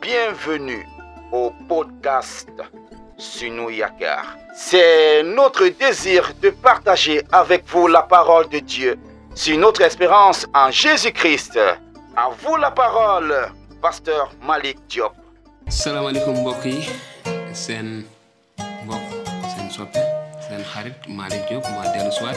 Bienvenue au podcast Sunu Yakar. C'est notre désir de partager avec vous la parole de Dieu. C'est notre espérance en Jésus-Christ. À vous la parole, Pasteur Malick Diop. Salam alaikum mbokk yi seen mbokk seen soppe seen xarit Malick Diop moo dellu si waat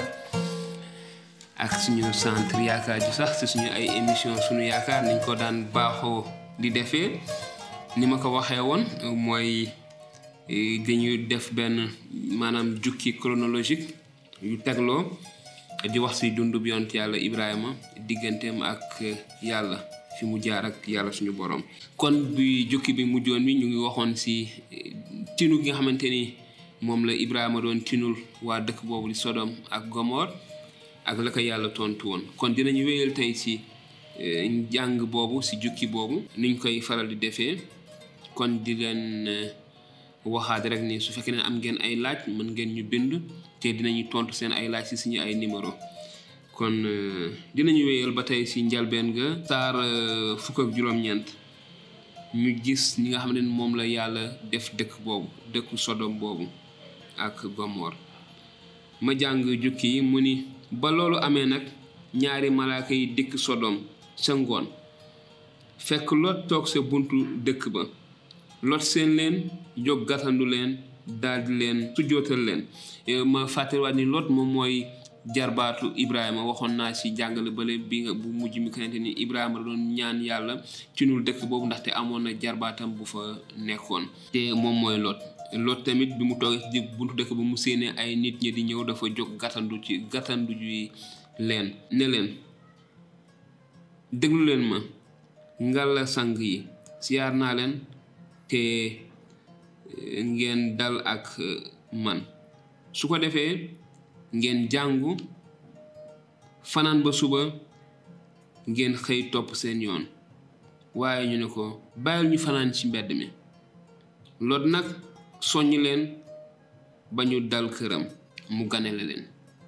ak suñu centre yaakaar ju sax ci suñu ay émission Sunu Yaakaar niñ ko daan baaxoo di defee ni ma ko waxee woon mooy dañuy def benn maanaam jukki chronologique yu tegloo di wax ci dundu bi yonent yàlla Ibrahima digganteem ak yàlla fi mu jaar ak yàlla suñu borom. kon bi jukki bi mujjoon bi ñu ngi waxoon ci tinu gi nga xamante ni moom la Ibrahima doon tinul waa dëkk boobu di Sodom ak Gomor ak la ko yàlla tontu woon. kon dinañu wéyal tey ci njàng boobu ci jukki boobu niñ koy faral di defee kon di leen waxaat rek ni su fekkee ne am ngeen ay laaj mën ngeen ñu bind te dinañu tontu seen ay laaj ci suñu ay numéro kon dinañu wéyal ba tey ci njalbeen ga saar fukk ak juróom-ñeent ñu gis ñi nga xam ne moom la yàlla def dëkk boobu dëkku Sodom boobu ak Gomor ma jàng jukki yi mu ni ba loolu amee nag ñaari malaaka yi dikk Sodom sa ngoon fekk Lot toog sa buntu dëkk ba Lot seen leen jóg gàttandu leen daldi leen sujjootal leen ma fàttaliwaat ni Lot moom mooy jarbaatu Ibrahima waxoon naa ci jàngale bale bi nga bu mujj mi xamante ni Ibrahima doon ñaan yàlla ci nul dëkk boobu ndaxte amoon na jarbaatam bu fa nekkoon te moom mooy Lot tamit bi mu toogee ci buntu dëkk ba mu séenee ay nit ñi di ñëw dafa jóg gàttandu ji leen ne leen déglu leen ma ngalla sang yi siyaar naa leen te ngeen dal ak man su ko defee ngeen jàngu fanaan ba suba ngeen xëy topp seen yoon waaye ñu ne ko bàyyil ñu fanaan ci mbedd mi Lot nag soññ leen ba ñu dal këram mu ganale leen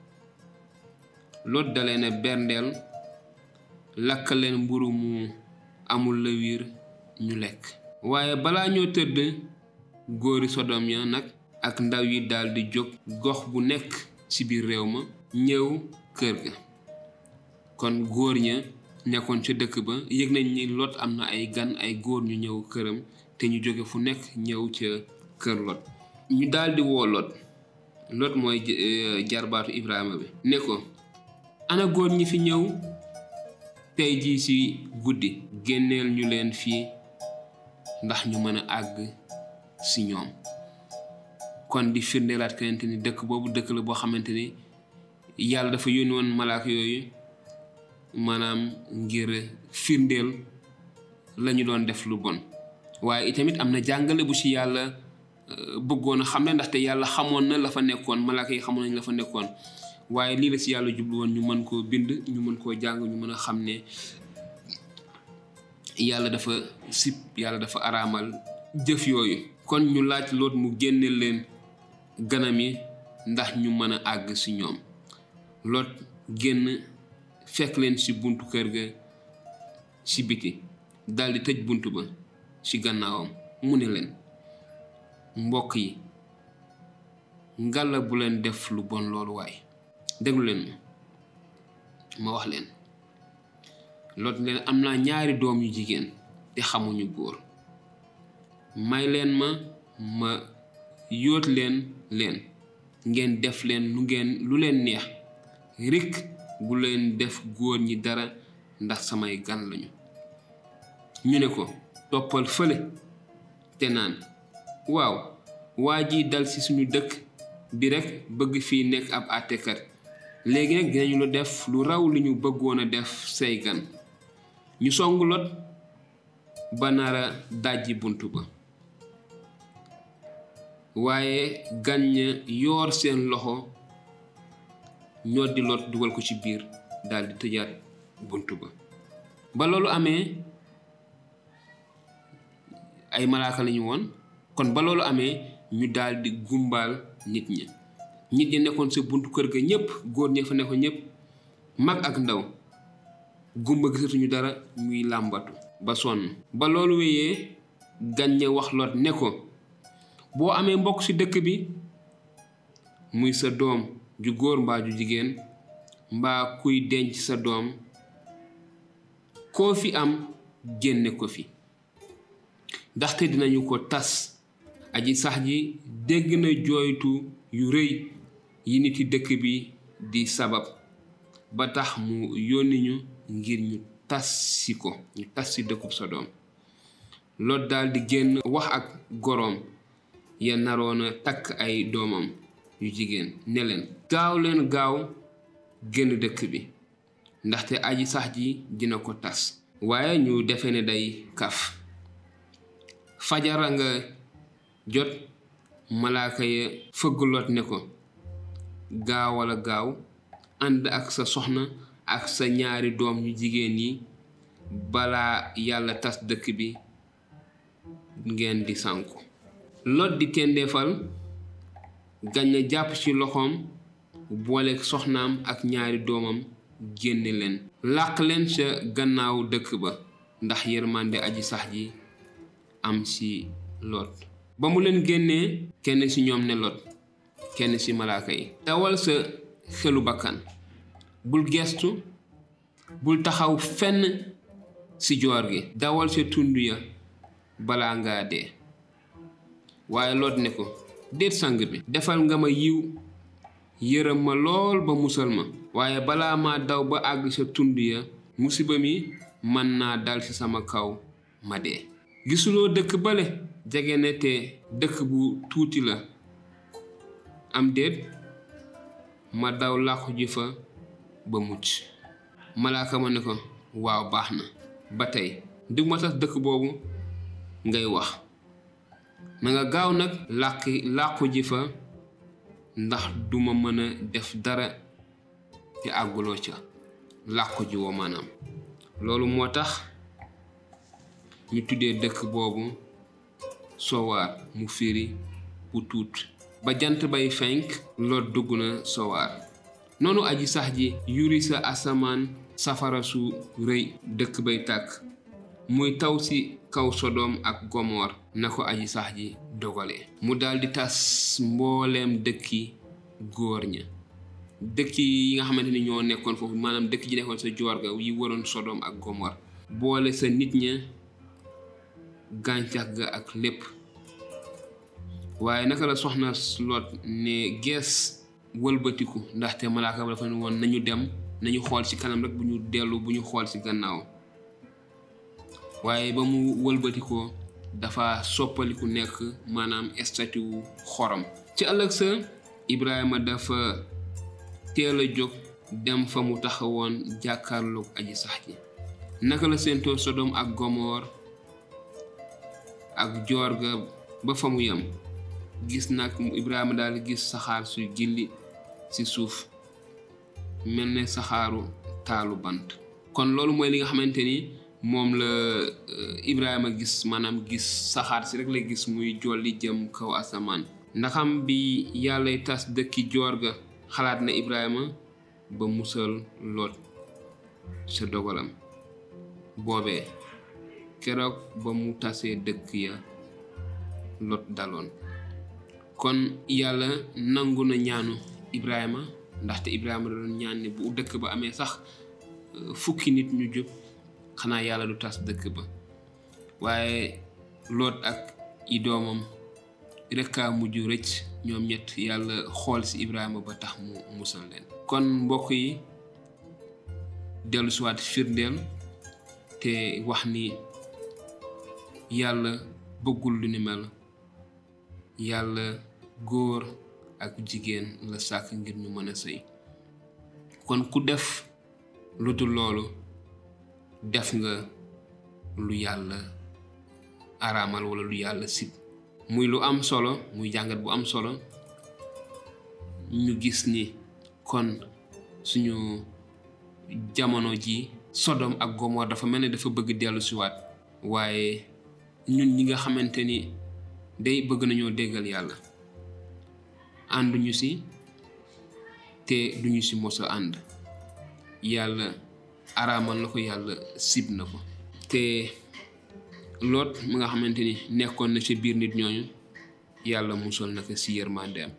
Lot dalee ne berndeel lakk leen mburu mu amul la wiir ñu lekk waaye balaa ñoo tëdd góori Sodom ya nag ak ndaw yi daldi jóg gox bu nekk ci biir réew ma ñëw kër ga kon góor ña nekkoon ca dëkk ba yëg nañ ni Lot am na ay gan ay góor ñu ñëw këram te ñu jóge fu nekk ñëw ca kër Lot ñu daldi woo Lot mooy jarbaatu Ibrahima bi ne ko ana góor ñi fi ñëw tey jii ci guddi génneel ñu leen fii ndax ñu mën a àgg ci ñoom kon di firndeelaat kenente ni dëkk boobu dëkk la boo xamante ni yàlla dafa yónni woon malaaka yooyu maanaam ngir firndeel la ñu doon def lu bon waaye itamit am na jàngale bu ci yàlla bëggoon a xam ne ndaxte yàlla xamoon na la fa nekkoon malaaka yi xamoon nañ la fa nekkoon waaye lii la ci yàlla jublu woon ñu mën koo bind ñu mën koo jàng ñu mën a xam ne yàlla dafa sib yàlla dafa araamal jëf yooyu kon ñu laaj Lot mu génne leen ganam yi ndax ñu mën a àgg ci ñoom Lot génn fekk leen ci buntu kër ga ci biti daldi tëj buntu ba ci gannaawam mu ne leen mbokk yi ngalla bu leen def lu bon loolu waaye déglu leen ma wax leen Lot leen am naa ñaari doom yu jigéen te xamuñu góor may leen ma yóot leen ngeen def leen lu leen neex rekk bu leen def góor ñi dara ndax samay gan lañu ñu ne ko toppal fële te naan waaw waa ji dal ci suñu dëkk bi rekk bëgg fii nekk ab àttekat léegi nag dinañu la def lu raw li ñu bëggoon a def say gan ñu song Lot ba nara dajji buntu ba waaye gan ña yoor seen loxo ñoo di Lot dugal ko ci biir daldi tëjaat buntu ba loolu amee ay malaaka lañu woon kon ba loolu amee ñu daldi gumbaal nit ñi nekkoon sa buntu kër ga ñépp góor ña fa nekkoon ñépp mag ak ndaw gumba gisatuñu dara muy làmbatu ba sonn ba loolu wéyee gan ña wax Lot ne ko boo amee mbokk ci dëkk bi muy sa doom ju góor mbaa ju jigéen mbaa kuy denc sa doom koo fi am génne ko fi ndaxte dinañu ko tas. aji sax ji dégg na jooytu yu rëy yi niti dëkk bi di sabab ba tax mu yónni ñu ngir ñu tas si dëkkub Sodom. Lot daal di génn wax ak goroom ya naroona takk ay doomam yu jigéen ne leen gaaw génn dëkk bi ndaxte aji sax ji dina ko tas. waaye ñu defe ne day kaf. fajara nga jot malaaka ya fëgg Lot ne ko gaaw ànd ak sa soxna ak sa ñaari doom yu jigéen yi balaa yàlla tas dëkk bi ngeen di sànku. Lot di tendeefal gaña jàpp ci loxoom boole soxnaam ak ñaari doomam génne leen làq leen ca gannaaw dëkk ba ndax yërmande aji sax ji am ci Lot. ba mu leen génnee kenn ci ñoom ne Lot kenn ci malaaka yi dawal sa xelu bakkan bul gestu bul taxaw fenn ci joor gi dawal sa tund ya balaa ngaa dee. waaye Lot ne ko déet sang bi defal nga ma yiw yërëm ma lool ba musal ma waaye balaa ma daw ba àgg sa tund ya musiba mi mën naa dal ci sama kaw ma dee. gisuloo dëkk bale jege ne te dëkk bu tuuti la am déet ma daw làqu ji fa ba mucc. malaaka ma ne ko waaw baax na ba tey du ma tas dëkk boobu ngay wax na nga gaaw nag làqu ji fa ndax duma mën a def dara te àgguloo ca làqu ji woo maanaam. loolu moo tax ñu tuddee dëkk boobu Sowaar mu firi bu tuut. ba jant bay fenk Lot dugg na Sowaar. noonu aji sax ji yuri sa asamaan safara su rëy dëkk bay tàkk muy taw ci kaw Sodom ak Gomor na ko aji sax ji dogale. mu daldi tas mbooleem dëkki góor ña dëkk yi nga xamante ni ñoo nekkoon foofu maanaam dëkk ji nekkoon sa joor ga yi waroon Sodom ak Gomor boole sa nit ña gàncax ga ak lépp. waaye naka la soxna Lot ne gees wëlbatiku ndaxte malaaka ba dafa ne woon nañu dem nañu xool ci kanam rek bu ñu xool ci gannaaw. waaye ba mu wëlbatikoo dafa soppaliku nekk maanaam statue wu xorom. ci ëllëg sa Ibrahima dafa teel a jóg dem fa mu taxawoon jàkkaarloog aji sax ji. naka la séentoo Sodom ak Gomor ak joor ga ba fa mu yem gis nag Ibrahima daal gis saxaar su gilli ci suuf mel ne saxaaru taalu bant. kon loolu mooy li nga xamante ni moom la Ibrahima gis maanaam gis saxaar si rek la gis muy jolli jëm kaw asamaan. ndaxam bi yàllay tas dëkki joor ga xalaat na Ibrahima ba musal Lot sa dogalam boobee keroog ba mu tasee dëkk ya Lot daloon. kon yàlla nangu na ñaanu Ibrahima ndaxte Ibrahima doon ñaan ne bu dëkk ba amee sax fukki nit ñu jub xanaa yàlla du tas dëkk ba. waaye Lot ak i doomam rek a mujj rëcc ñoom ñett yàlla xool ci Ibrahima ba tax mu musal leen. kon mbokk yi dellu siwaat firndeel te wax ni yàlla bëggul lu ni mel. yàlla góor ak jigéen la sàkk ngir ñu mën a sëy. kon ku def lu dul loolu def nga lu yàlla araamal wala lu yàlla sib. muy lu am solo muy jàngat bu am solo ñu gis ni kon suñu jamono ji Sodom ak Gomor dafa mel ne dafa bëgg dellu siwaat. waaye ñun ñi nga xamante ni day bëgg nañoo déggal yàlla ànduñu ci te duñu ci mos a ànd. yàlla araamal na ko yàlla sib na ko te Lot mi nga xamante ni nekkoon na ci biir nit ñooñu yàlla musal na ko si yërmandeem.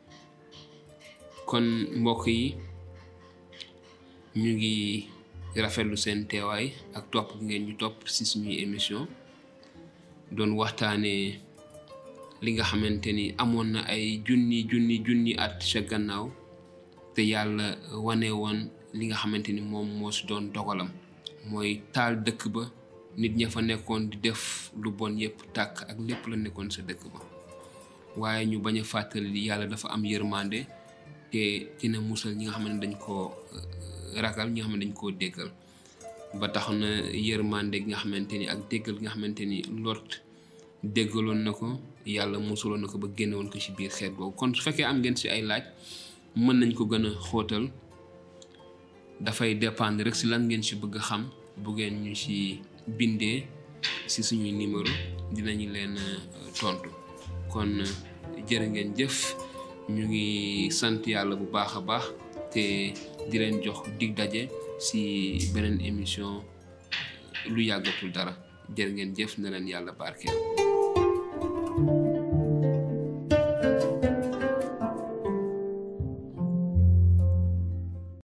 kon mbokk yi ñu ngi rafetlu seen teewaay ak topp ngeen ñu topp si suñuy émission doon waxtaanee li nga xamante ni amoon na ay junni at ca gannaaw te yàlla wane woon li nga xamante ni moom moo si doon dogalam mooy taal dëkk ba nit ña fa nekkoon di def lu bon yépp tàkk ak lépp la nekkoon sa dëkk ba waaye ñu bañ a fàttali yàlla dafa am yërmande te dina musal ñi nga xam ne dañ koo ragal ñi nga xam ne dañ koo déggal ba tax na yërmande gi nga xamante ni ak déggal gi nga xamante ni Lot déggaloon na ko yàlla musaloon na ko ba génnewoon ko ci biir xeet boobu. kon su fekkee am ngeen ci ay laaj mën nañ ko gën a xóotal dafay dépendre rek ci lan ngeen ci bëgg a xam bu ngeen ñu ci bindee ci suñuy numéro dinañu leen tontu. kon jërë ngeen jëf ñu ngi sant yàlla bu baax a baax te di leen jox dig daje ci beneen émission lu yàggatul dara jërë ngeen jëf na leen yàlla barkeel.